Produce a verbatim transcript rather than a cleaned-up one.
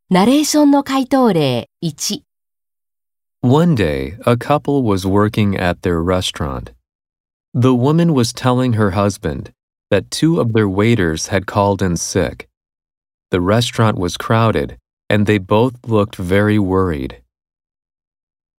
ナレーションの回答例いち。 One day, a couple was working at their restaurant. The woman was telling her husband that two of their waiters had called in sick. The restaurant was crowded, and they both looked very worried.